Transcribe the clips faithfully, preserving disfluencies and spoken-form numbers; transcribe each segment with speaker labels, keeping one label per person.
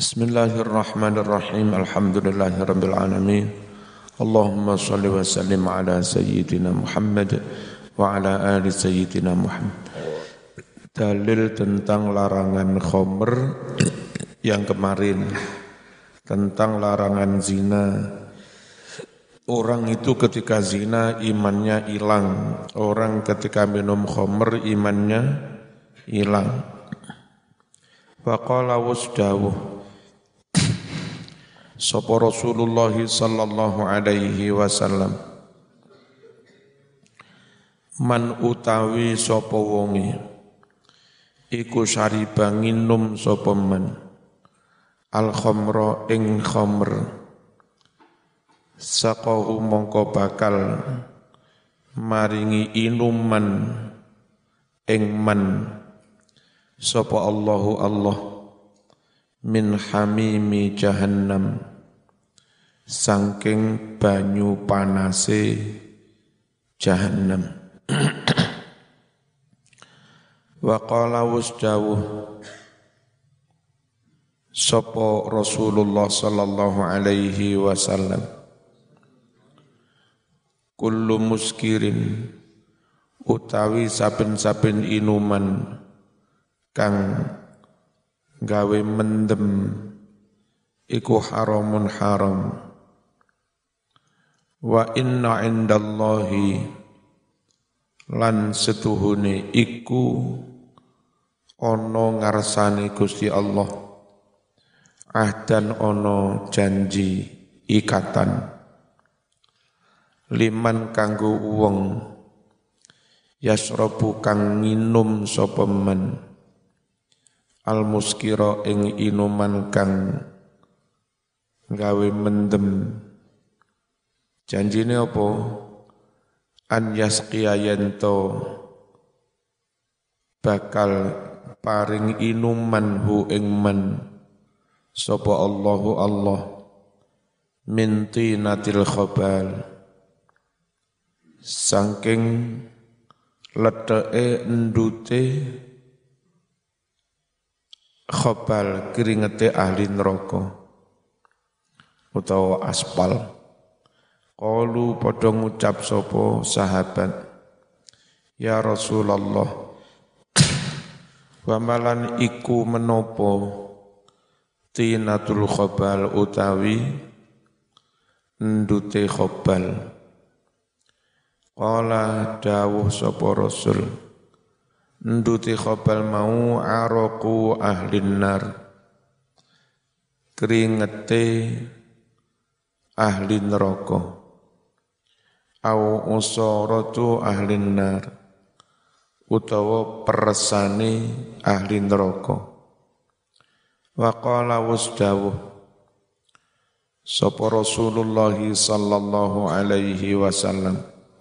Speaker 1: Bismillahirrahmanirrahim. Alhamdulillahirabbil alamin. Allahumma shalli wa sallim ala sayyidina Muhammad wa ala ali sayyidina Muhammad. Dalil tentang larangan khamr yang kemarin, tentang larangan zina. Orang itu ketika zina imannya hilang. Orang ketika minum khamr imannya hilang. Faqala wasdawuh sapa Rasulullah sallallahu alaihi wasallam, man utawi sapa wonge iku syariba nginum sapa man al khamra ing khamr, saqahu mongko bakal maringi inuman ing man sapa Allahu Allah min hamimi jahannam saking banyu panase jahannam. Wa qala wasdawuh sapa Rasulullah sallallahu alaihi wasallam, kullu muskirin utawi saben-saben inuman kang gawe mendem iku haramun haram. Wa inna indallahi lan setuhune iku ono ngarsane Gusti Allah ahdan ono janji ikatan liman kanggo wong yasrabu kang nginum sapa men al muskira ing inuman kang gawe mendem. Janjine apa? An yasqiya yanto bakal paring inuman hu ing men sapa Allahu Allah min tinatil khabal saking leteke endute khabal keringete ahli neraka utawa aspal. Qalu padha ngucap sapa sahabat, ya Rasulullah, wa malan iku menapa tinatul khabal utawi endute khabal. Qala dawuh sapa Rasul, nduti khabal mau araku ahlin nar, keringete ahli neraka, au usaratu ahlin nar, utawa peresane ahli neraka. Wa qala wasdawuh sapa Rasulullah sallallahu alaihi wasallam,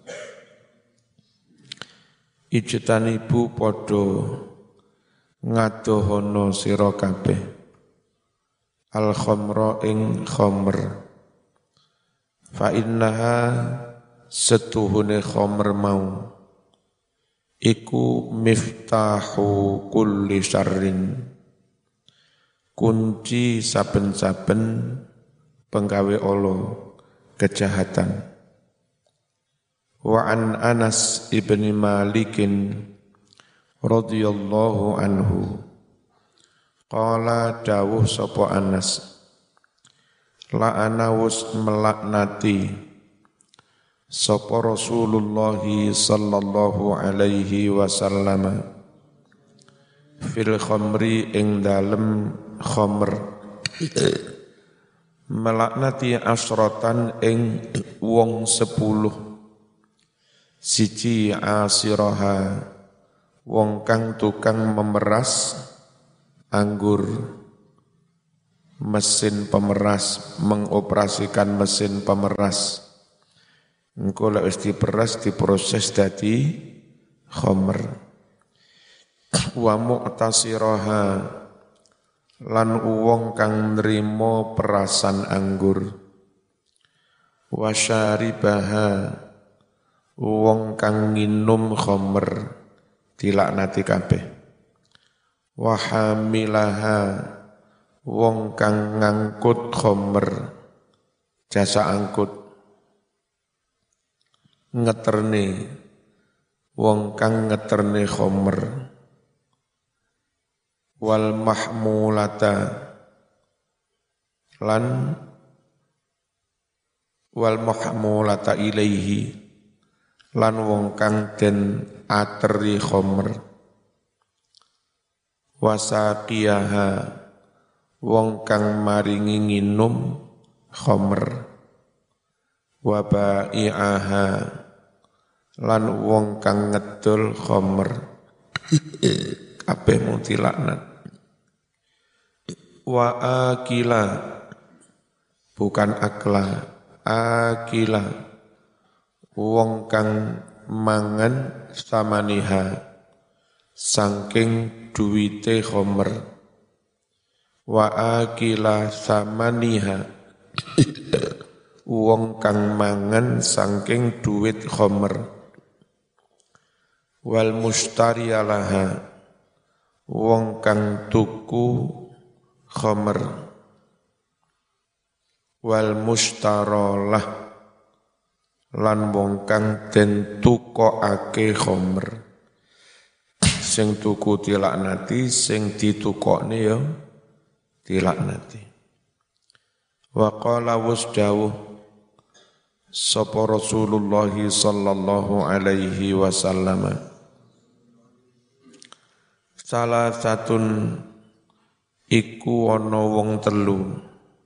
Speaker 1: ijtanibu padha ngadohana sira kabeh al khamra ing khamr, fa innaha setuhune khamr mau iku miftahu kulli syarrin, kunci saben-saben penggawe ala kejahatan. Wa an Anas ibn Malikin radhiyallahu anhu qala dawuh sapa Anas, la ana wus melaknati sapa Rasulullah sallallahu alaihi wasallam fil khamri ing dalem khamr, melaknati asratan ing wong sepuluh. Siji asiraha wong kang tukang memeras anggur, mesin pemeras, mengoperasikan mesin pemeras. Engko lek wis diperas diproses dadi khamr. Wa mu'tasiraha lan wong kang nrimo perasan anggur. Wa syaribaha wong kang nginum khamr dilaknati kabeh. Wa hamilaha wong kang ngangkut khomer, jasa angkut, ngeterne, wong kang ngeterne khomer, wal mahmulata, lan wal mahmulata ilaihi, lan wong kang den ateri khomer, wasaqiyaha, wong kang maringi nginum khomer, wabai'aha, lan wong kang ngedol khomer, kabeh mung dilaknat. Wa akila, bukan akla, akila, wong kang mangan samaniha, saking duwite khomer. Wa akila samaniha, wong kang mangan saking duwit khomer. Wal mustariyalaha, wong kang tuku khomer. Wal mustarolah, lan wong kang den tukokake khomer. Sing tuku dilaknati, sing ditukokne ya dilaknati. Wa qala wasdawuh sapa Rasulullah sallallahu alaihi wasallam, salah satun iku ana wong telu,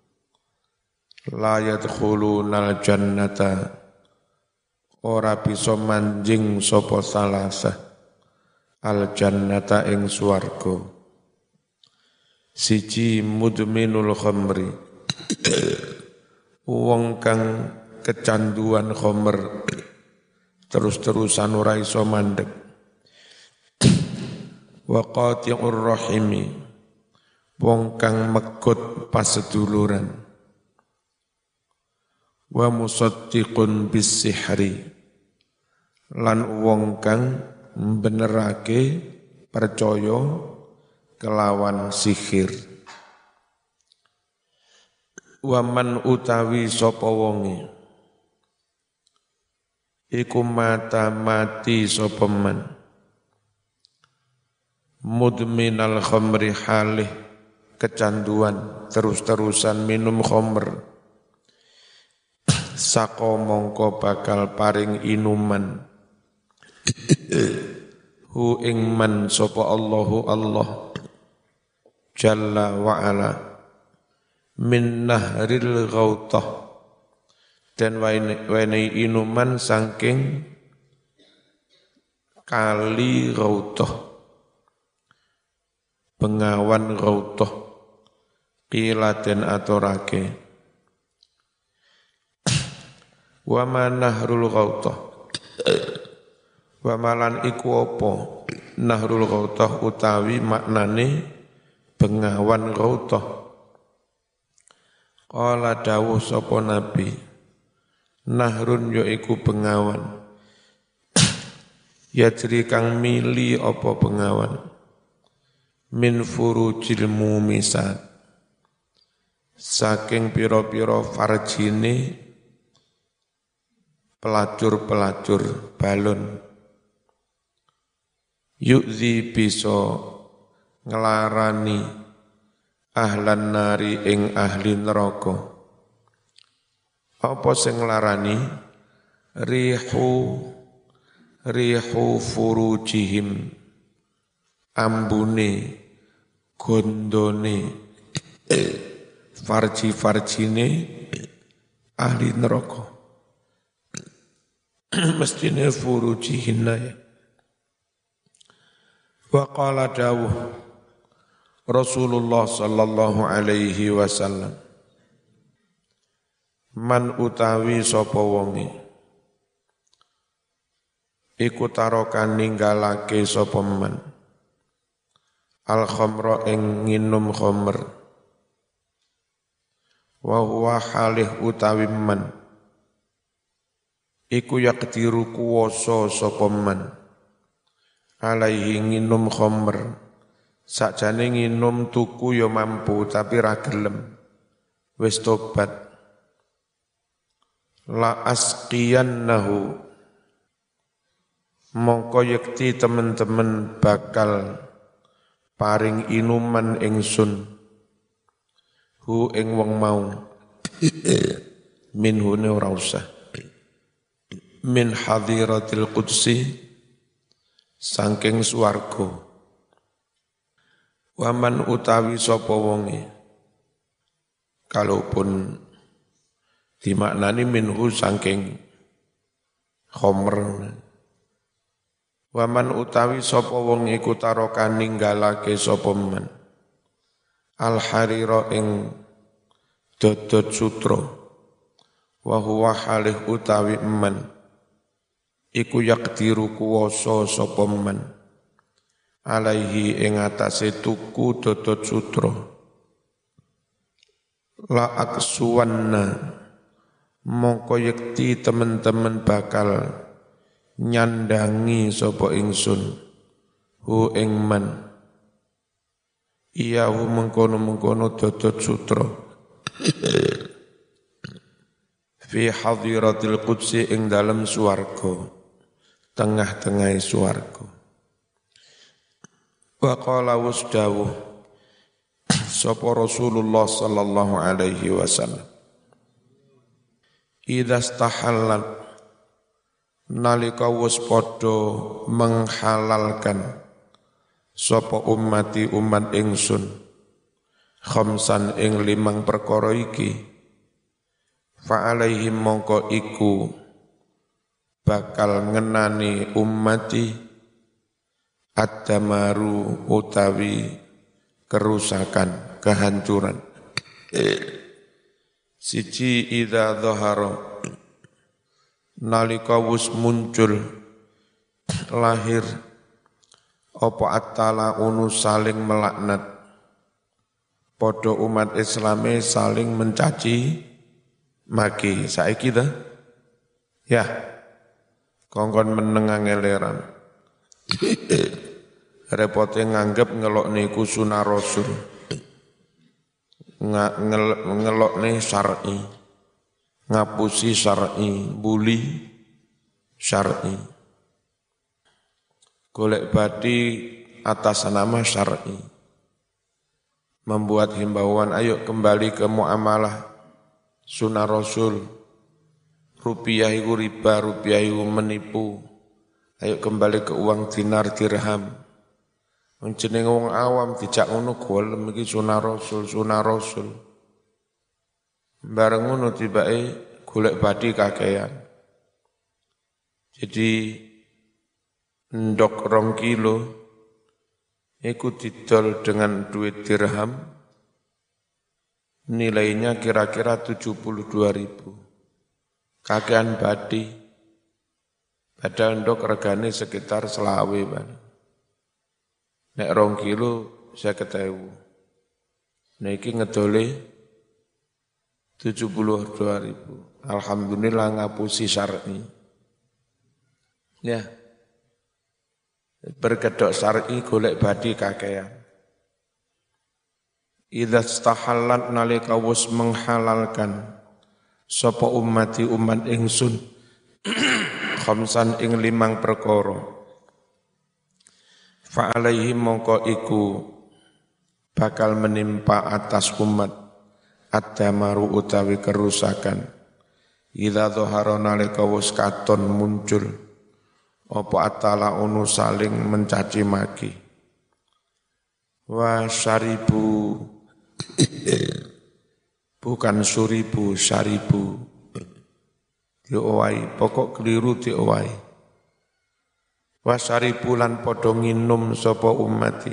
Speaker 1: la yadkhulunal jannata, ora bisa manjing sapa salasa al jannata ing swarga. Siji mudminul khamri, wong kang kecanduan khamr terus-terusan ora iso mandeg. Wa qati'ur rahimi, wong kang megut paseduluran. Wa musaddiqun bis sihri, lan wong kang benerake percaya kelawan sihir. Wa man utawi sapa wonge iku mata mati sapa man mudminal khamri, halih kecanduan terus-terusan minum khamr, sako mongko bakal paring inuman hu ing man sapa Allahu Allah jalla wa ala min nahril ghautah, dan wenehi inuman saking kali ghautah, bengawan ghautah, qila den aturake. Wa ma nahrul ghautah, wa malan iku apa nahrul ghautah utawi maknane bengawan ghautah. Qala dawuh sapa nabi, nahrun yaiku bengawan, yajri kang mili apa bengawan, min furujil mumisat, saking pira-pira farjine pelacur-pelacur balon, yu'zi bisa ngelarani ahlan nari ing ahli neraka. Apa sing nglarani? Rihu rihu furujihim, ambune gondone farji-farjine ahli neraka. Mestine furujihinna ya. Wa qala dawuh Rasulullah sallallahu alaihi wasallam, man utawi sapa wonge iku tarokan ninggalake sapa man al khamra ing nginum khamr, wa huwa halih utawi man iku yaqdiru kuwasa sapa man alaihi nginum khamr sakjane nginum tuku ya mampu tapi ra gelem wis tobat la asqiyannahu mongko yekti temen-temen bakal paring inuman ingsun hu ing wong mau minhu ne ora usah min hadiratil qudsi saking swarga waman utawi sapa wonge kalaupun dimaknani minhu saking khomer waman utawi sapa wong iku taraka ninggalake sapa men al harira ing dodot sutra wa huwa halih utawi men iku yakdiru kuwasa sapa men alaihi ing atase tuku dodot sutra la aksuwanna mongko yekti temen-temen bakal nyandangi sapa ingsun hu ing man iya hu mengkono-mengkono dodot sutra fi hadiratil qudsi ing dalem swarga tengah-tengah swarga wa qala wasdawuh sapa Rasulullah sallallahu alaihi wasallam idza stahallat nalika wis padha menghalalkan sapa ummati umat ingsun khamsan ing limang perkara iki fa alaihim mongko iku bakal ngenani ummati ad-damaru utawi kerusakan, kehancuran. Siji idza dhahara nalika wis muncul lahir apa at-tala unu saling melaknat padha umat Islame saling mencaci maki saiki ta ya kongkon meneng angeleran repote nganggep ngelok niku sunah rasul ngelok nih syar'i ngapusi syar'i buli syar'i golek badi atas nama syar'i membuat himbauan ayo kembali ke muamalah sunah rasul rupiah itu riba rupiah itu menipu ayo kembali ke uang dinar dirham jenenge wong awam dijak ngono golem iki sunah rasul sunah rasul bareng ngono tibake golek badi kakean jadi ndok rong kilo iku didol dengan duit dirham nilainya kira-kira tujuh puluh dua ribu kakean badi padahal ndok regane sekitar selawe bang. Nek rong kilo saya ketahui. Nek iki ngedole tujuh puluh dua ribu. Alhamdulillah ngapusi syar'i. Ya. Berkedok syar'i golek badi kakean. Idza stahallat nalika wis menghalalkan sapa ummati umat ingsun khamsan ing limang perkara. Fa alaihim mongko iku bakal menimpa atas umat ad-damaru utawi kerusakan idza dhahara nalika wis katon muncul apa atala unu saling mencaci maki wa syaribu bukan suribu syaribu diowai pokok keliru diowai wasari bulan padha nginum sapa ummati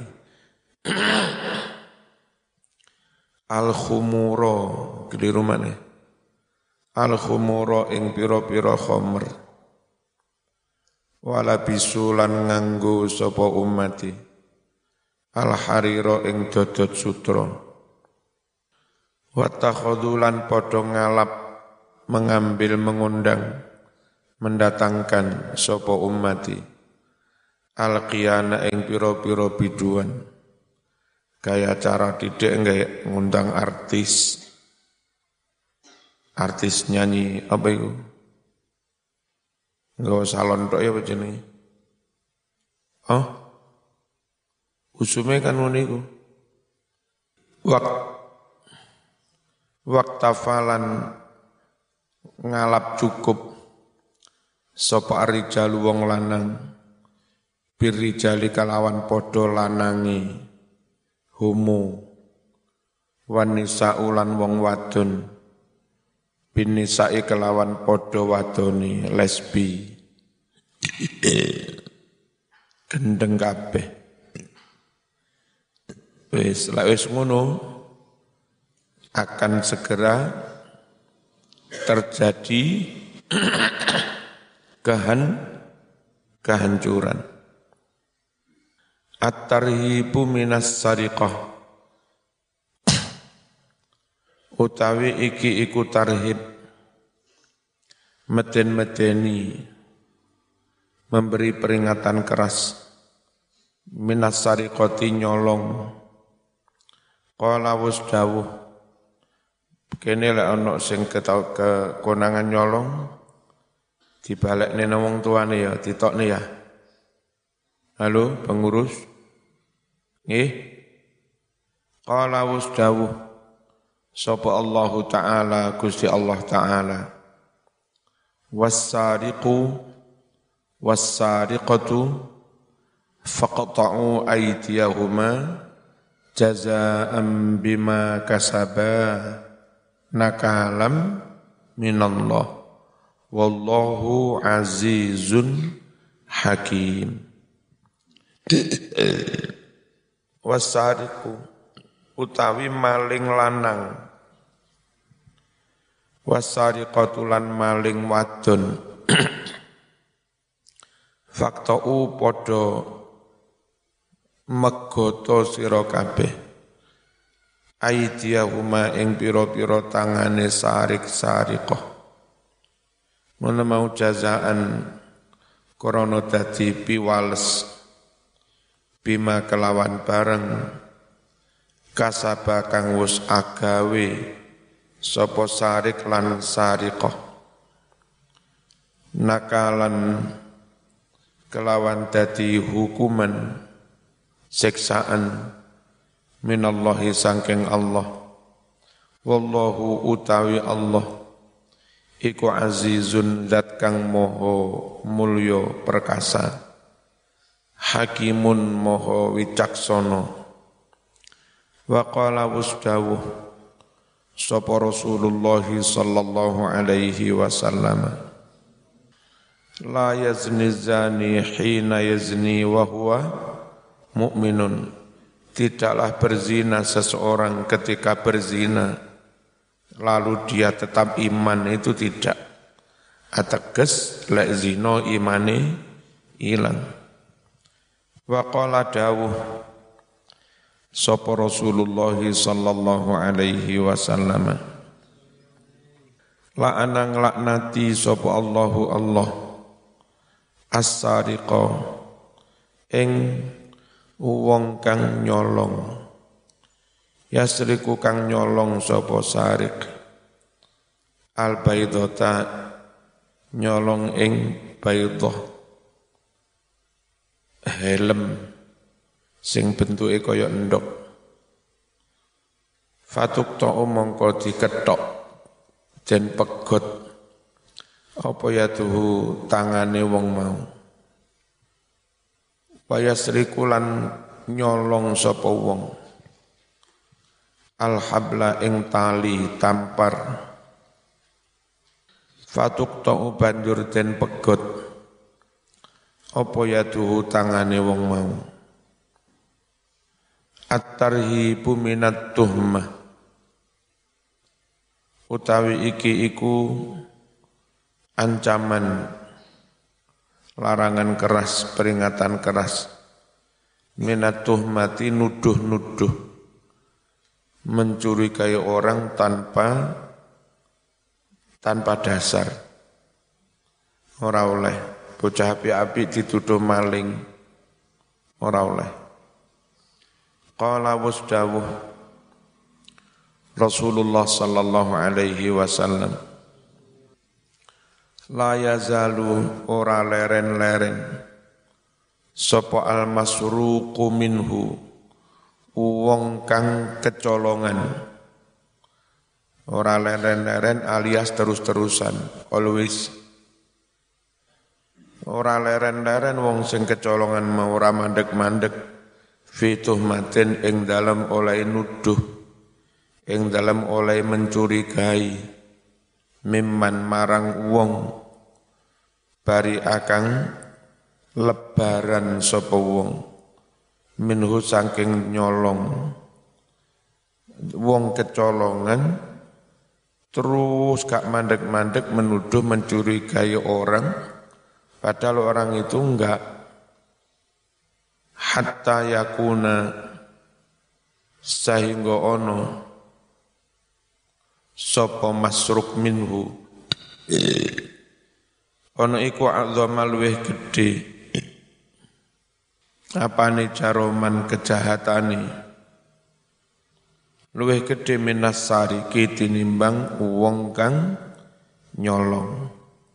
Speaker 1: al khumura keliru maneh al khumura ing pira-pira khamr wala bisulan nganggo sapa ummati al harira ing dodot sutra wa takhudulan padha ngalap mengambil mengundang mendatangkan sapa ummati al-qiyana ing pira-pira biduan Kayak acara didik enggak ngundang artis. Artis nyanyi apa itu? Enggak salon tok ya apa jenenge? Oh? Usume kan ngono iku. Wak waktafalan ngalap cukup sapa rijalu wong lanang birrijali kalawan padha lanangi homo wanisa ulan wong wadon binisai kelawan padha wadoni lesbi gendeng kabeh wis lek wis ngono akan segera terjadi kehan kehancuran. At-tarhibu minas sariqah utawi iki iku tarhib meden-medeni memberi peringatan keras minas sariqati nyolong qala wus dawuh kene lek ana sing ketau kekonangan nyolong dibalekne nang wong tuane ya ditokne ya. Halo pengurus. Nggih. Qala wasdawuh sapa Allah taala Gusti Allah taala. Was-sariqu was-sariqatu faqta'u aydiyahuma jazaa'an bima kasaba nakalam minallah wallahu azizun hakim. Wasariku utawi maling lanang wasariqatu lan maling wadon faktau padha megoto sira kabeh aidiyahuma ing pira-pira tangane sarik-sariqah ngono mau jazaan krana dadi piwales bima kelawan bareng kasaba kang wis agawe sapa sarik lan sariqah nakalan kelawan dadi hukuman siksaan minallahi sangking Allah wallahu utawi Allah iku azizun zat kang moho mulya perkasa hakimun moho wicaksana wa qala wasdawuh sapa Rasulullah sallallahu alaihi wasallam la yazni zani hina yazni wa huwa mu'minun tidaklah berzina seseorang ketika berzina lalu dia tetap iman itu tidak ateges lek zina imane ilang wa qala dawuh sapa Rasulullah sallallahu alaihi wasallam la anang laknati sapa Allahu Allah as-sariqa ing wong kang nyolong yasriku kang nyolong sapa sarik al baidota nyolong ing baidah helm sing bentuke kaya endhog fatuk ta mongko diketok den pegot apa ya tuhu tangane wong mau wayasriku lan nyolong sapa wong al-habla ing tali tampar fatuk ta'u banjur den pegot apa ya tuhu tangane wong mau at-tarhibu minat tuhmah utawi iki iku ancaman larangan keras peringatan keras minat tuhmati nuduh-nuduh mencurigai orang tanpa tanpa dasar. Ora oleh bocah api-api dituduh maling. Ora oleh. Qala wasdawuh Rasulullah sallallahu alaihi wasallam, la yazalu ora leren-leren sapa al-masruqu minhu wong kang kecolongan. Ora leren-leren alias terus-terusan, always. Ora leren-leren wong sing kecolongan mau ora mandek-mandek fituh maten ing dalem oleh nuduh, ing dalem oleh mencurigai mimman marang wong bari akang lebaran sapa wong minhu saking nyolong. Wong kecolongan terus gak mandek-mandek menuduh mencurigai orang, padahal orang itu enggak. Hatta yakuna sehingga ono sapa masruk minhu ono iku azama luweh gedhe apane jaroman kejahatane luweh gedhe minas sariki tinimbang wong kang nyolong.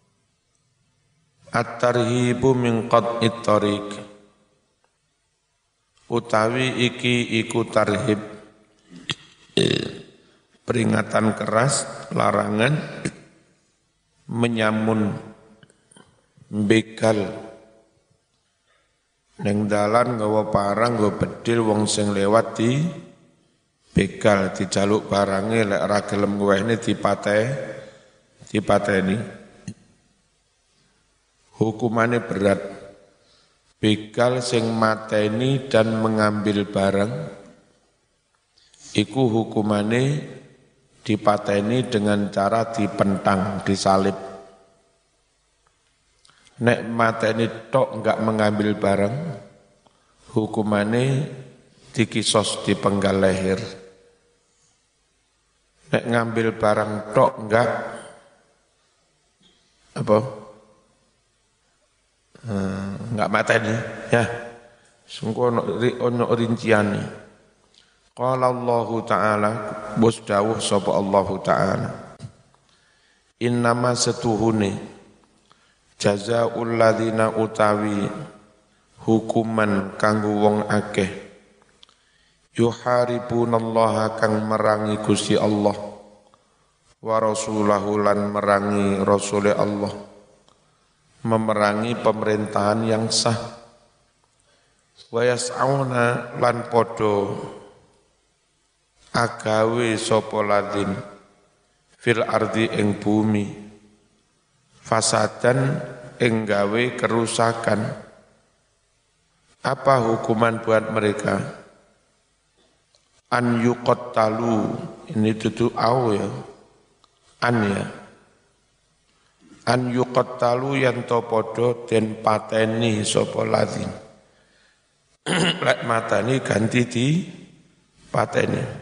Speaker 1: At-tarhibu min qat'it tariq, utawi iki iku tarhib, peringatan keras, larangan menyamun begal neng dalan nggawa parang nggawa bedil wong sing lewat di begal dijaluk barange lek ora gelem ngwehne dipateh dipateni. Hukumane berat. Begal sing mateni dan mengambil barang iku hukumane dipateni dengan cara dipentang, disalib. Nek mateni tok enggak mengambil barang, hukumane dikisos dipenggal leher. Nek ngambil barang tok enggak apa? Hmm, enggak mateni ya. Sungguh ono ono rinciane. Qala Allah Ta'ala, bos dawuh sapa Allah Ta'ala, innama setuhune jazaa'ul ladzina utawi hukuman kanggo wong akeh yuharibunallaha kang merangi Gusti Allah wa rasulahu lan merangi rasule Allah, memerangi pemerintahan yang sah, wa yas'auna lan podo agawe sapa ladzin fil ardi ing bumi fasadan ing gawe kerusakan. Apa hukuman buat mereka? An yuqattalu, ini tutu au ya, an ya, an yuqattalu yang to podo den pateni sapa ladzin. Lek matani ganti di pateni.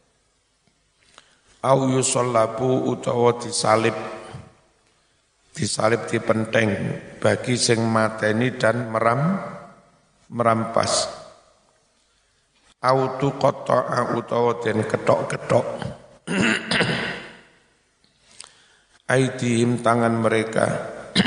Speaker 1: Au yusallabu utawa disalib, disalib dipenteng bagi sing mateni dan meram merampas. Au tuqatta'a utawa den ketok-ketok aidihim tangan mereka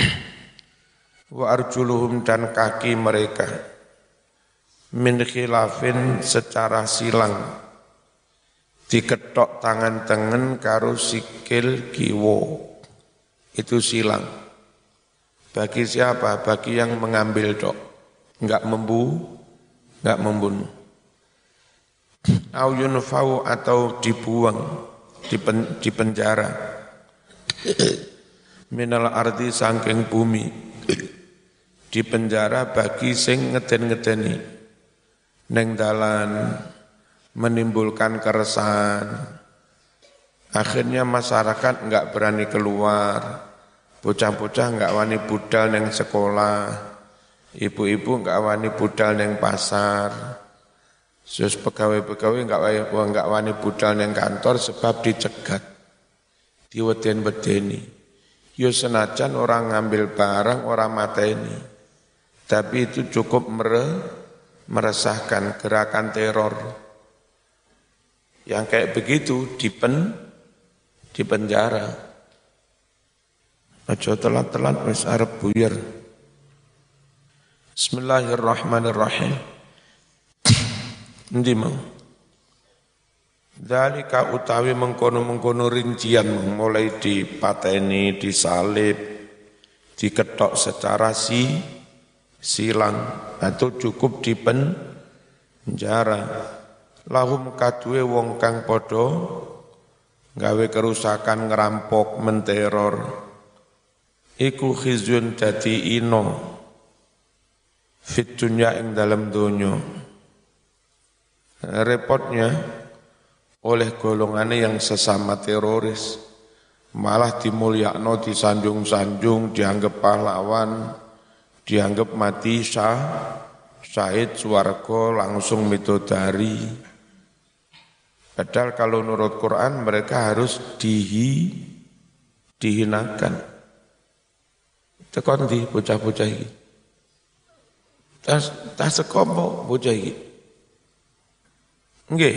Speaker 1: wa arjuluhum dan kaki mereka min khilafin secara silang, diketok tangan tengen karo sikil kiwo, itu silang. Bagi siapa? Bagi yang mengambil dok, enggak membu, enggak membunuh. Au yunfau atau dibuang, dipen, dipenjara. Minal ardi sangking bumi, dipenjara bagi sing ngeden-ngedeni neng dalan, menimbulkan keresahan. Akhirnya masyarakat enggak berani keluar, bocah-bocah enggak wani budal neng sekolah, ibu-ibu enggak wani budal neng pasar, sus pegawai-pegawai enggak enggak wani budal neng kantor sebab dicegat, diweden-wedeni. Yo senajan orang ngambil barang, orang mateni, tapi itu cukup mere, meresahkan gerakan teror. Yang kayak begitu dipen di penjara. Aja telat-telat wis arep buyar. Bismillahirrahmanirrahim. Endi mau? Dzalika utawi mengkono-mengkono rincian mulai dipateni, disalib, diketok secara si silang atau cukup di penjara. Lahum kadue wong kang padha gawe kerusakan, ngerampok, menteror, iku khizyun dadi ino fit dunya ing dalam dunya. Repotnya oleh golongannya yang sesama teroris malah dimulyakno, disanjung-sanjung, dianggap pahlawan, dianggap mati syah, syahid swarga, langsung mitodari. Padahal kalau menurut Quran mereka harus dihi, dihinakan. Tekon di bocah-bocah ini. Tas tas sekomo bocah ini. Nggih.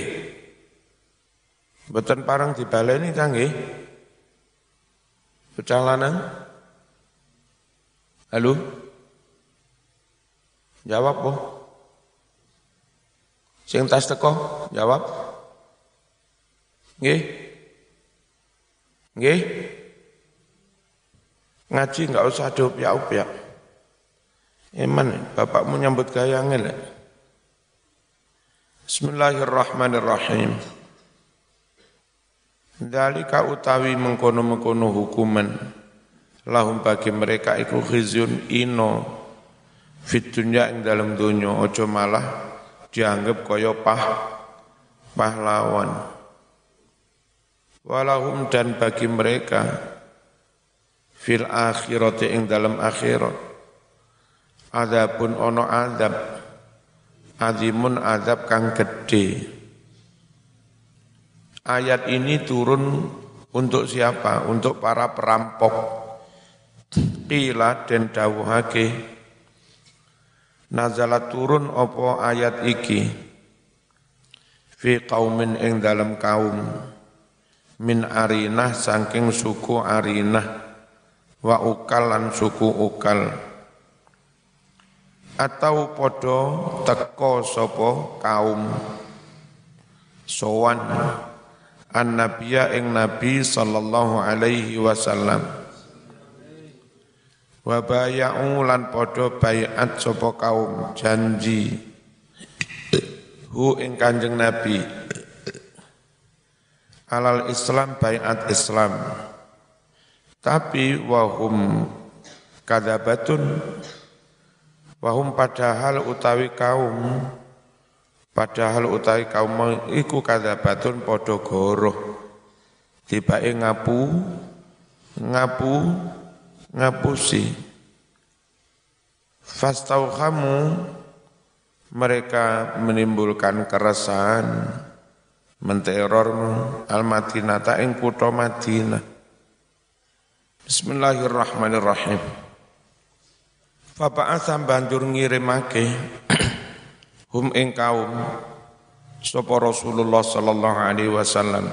Speaker 1: Mboten parang dibaleni ta nggih? Bocah lanang. Halo? Jawab po. Sing tas teko, jawab. Nggih? Nggih? Ngaji enggak usah diupiak-upiak. Eman, bapakmu nyambut gaya ngene. Bismillahirrahmanirrahim. Dzalika utawi mengkono-mengkono hukuman lahum bagi mereka iku khizyun ino fit dunya ing dalam dunya, aja malah dianggap kaya pah pahlawan. Walahum dan bagi mereka fil akhirati ing dalam akhirat adabun ono adab azimun adab kang gede. Ayat ini turun untuk siapa? Untuk para perampok. Qila dan dawuhake nazalat turun opo ayat iki fi qaumin ing dalam kaum min arinah saking suku arinah wa ukal lan suku ukal atau podo teko sopo kaum sowan an-nabiyya ing nabi sallallahu alaihi wasallam wa bay'u lan podo bay'at sopo kaum janji hu ing kanjeng nabi alal Islam bay'at Islam tapi wahum kadzabatun wahum padahal utawi kaum padahal utawi kaum iku kadzabatun padha goroh tibake ngapu ngapu ngapusi fastauhamu mereka menimbulkan keresahan menterormu al-Madinata ing kutha Madinah. Bismillahirrahmanirrahim. Faba'atha banjur ngirimake hum ing kaum sapa Rasulullah sallallahu alaihi wasallam.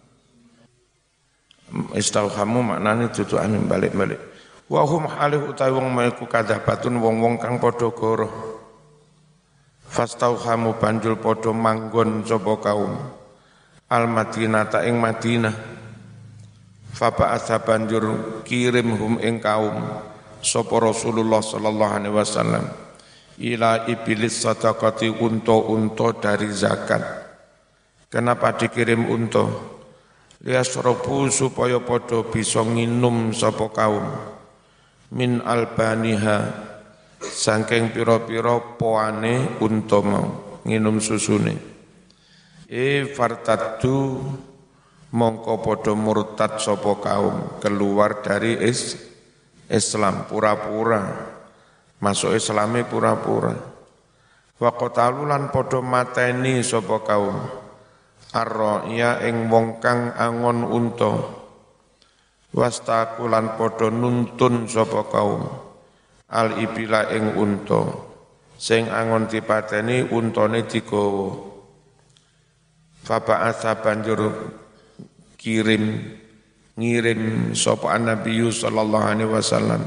Speaker 1: Istauhamu maknane tutuane balik-balik. Wa hum halih utawi wong maiku kadzabatun wong-wong kang padha goroh. Fastauhamu banjur padha manggon sapa kaum al-Madinata ing Madinah. Faba'atha banjur kirim hum ing kaum sapa Rasulullah sallallahu alaihi wasallam ila iblis sadaqati unta-unta dari zakat. Kenapa dikirim unta? Liyasrobu supaya padha bisa nginum sapa kaum min albaniha saking pira-pira poane unta mau nginum susune. E fartaddu mongko padha murtad sapa kaum keluar dari is, Islam pura-pura. Masuk Islame pura-pura. Wa qatalulan padha mateni sapa kaum arroya ing wong kang angon unta. Wastaqulan padha nuntun sapa kaum al ibila ing unta sing angon dipateni untane digawa. Faba'atsa banjur kirim ngirim sapa Nabi sallallahu alaihi wasallam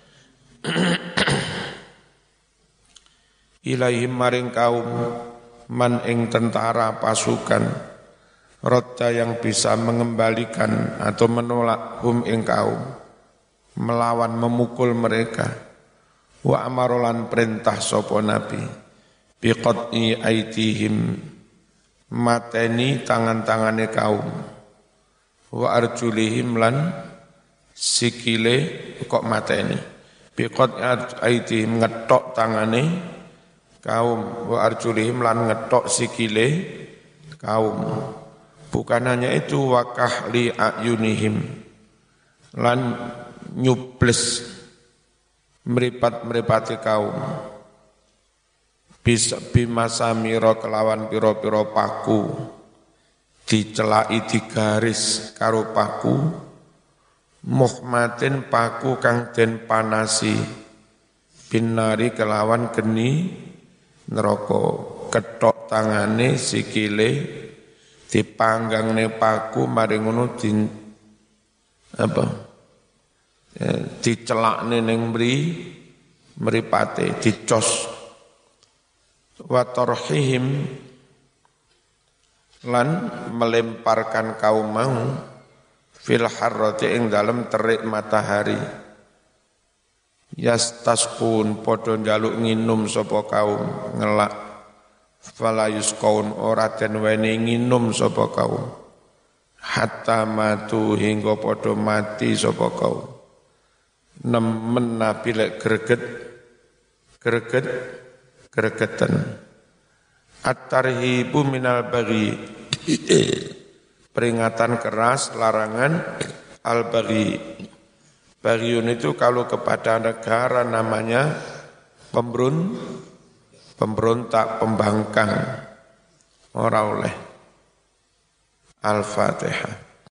Speaker 1: ilaihim maring kaum man ing tentara pasukan rodda yang bisa mengembalikan atau menolak hum ing kaum, melawan memukul mereka. Wa amarolan perintah sapa nabi biqat'i aitihim, mateni tangan-tangane kaum, wa arjulihim lan sikile kok mateni, biqat'i aitihim ngetok tangane kaum, wa arjulihim lan ngetok sikile kaum. Bukan hanya itu, wakah li ayunihim lan nyubles meripat-meripati kaum, bisa bimasamira kelawan piro-piro paku, dicelai digaris karo paku, muhmatin paku kang den panasi, binari kelawan geni neraka, ketok tangane sikile dipanggangne paku mari ngono di apa ya, dicelakne ning mri mripate dicos. Wa tarhihim lan melemparkan kaum mau fil harrati ing dalem terik matahari. Yastasqun padha njaluk nginum sapa kaum ngelak. Fala yusqaun ora den weni nginum sapa kaum hatta matu hingga padha mati sapa kaum. Nemen nabi lek greget greget gregeten. At-tarhibu minal baghi, peringatan keras, larangan al-baghi. Baghiyun itu kalau kepada negara namanya pemberun pemberontak, pembangkang, ora oleh. Al-Fatihah.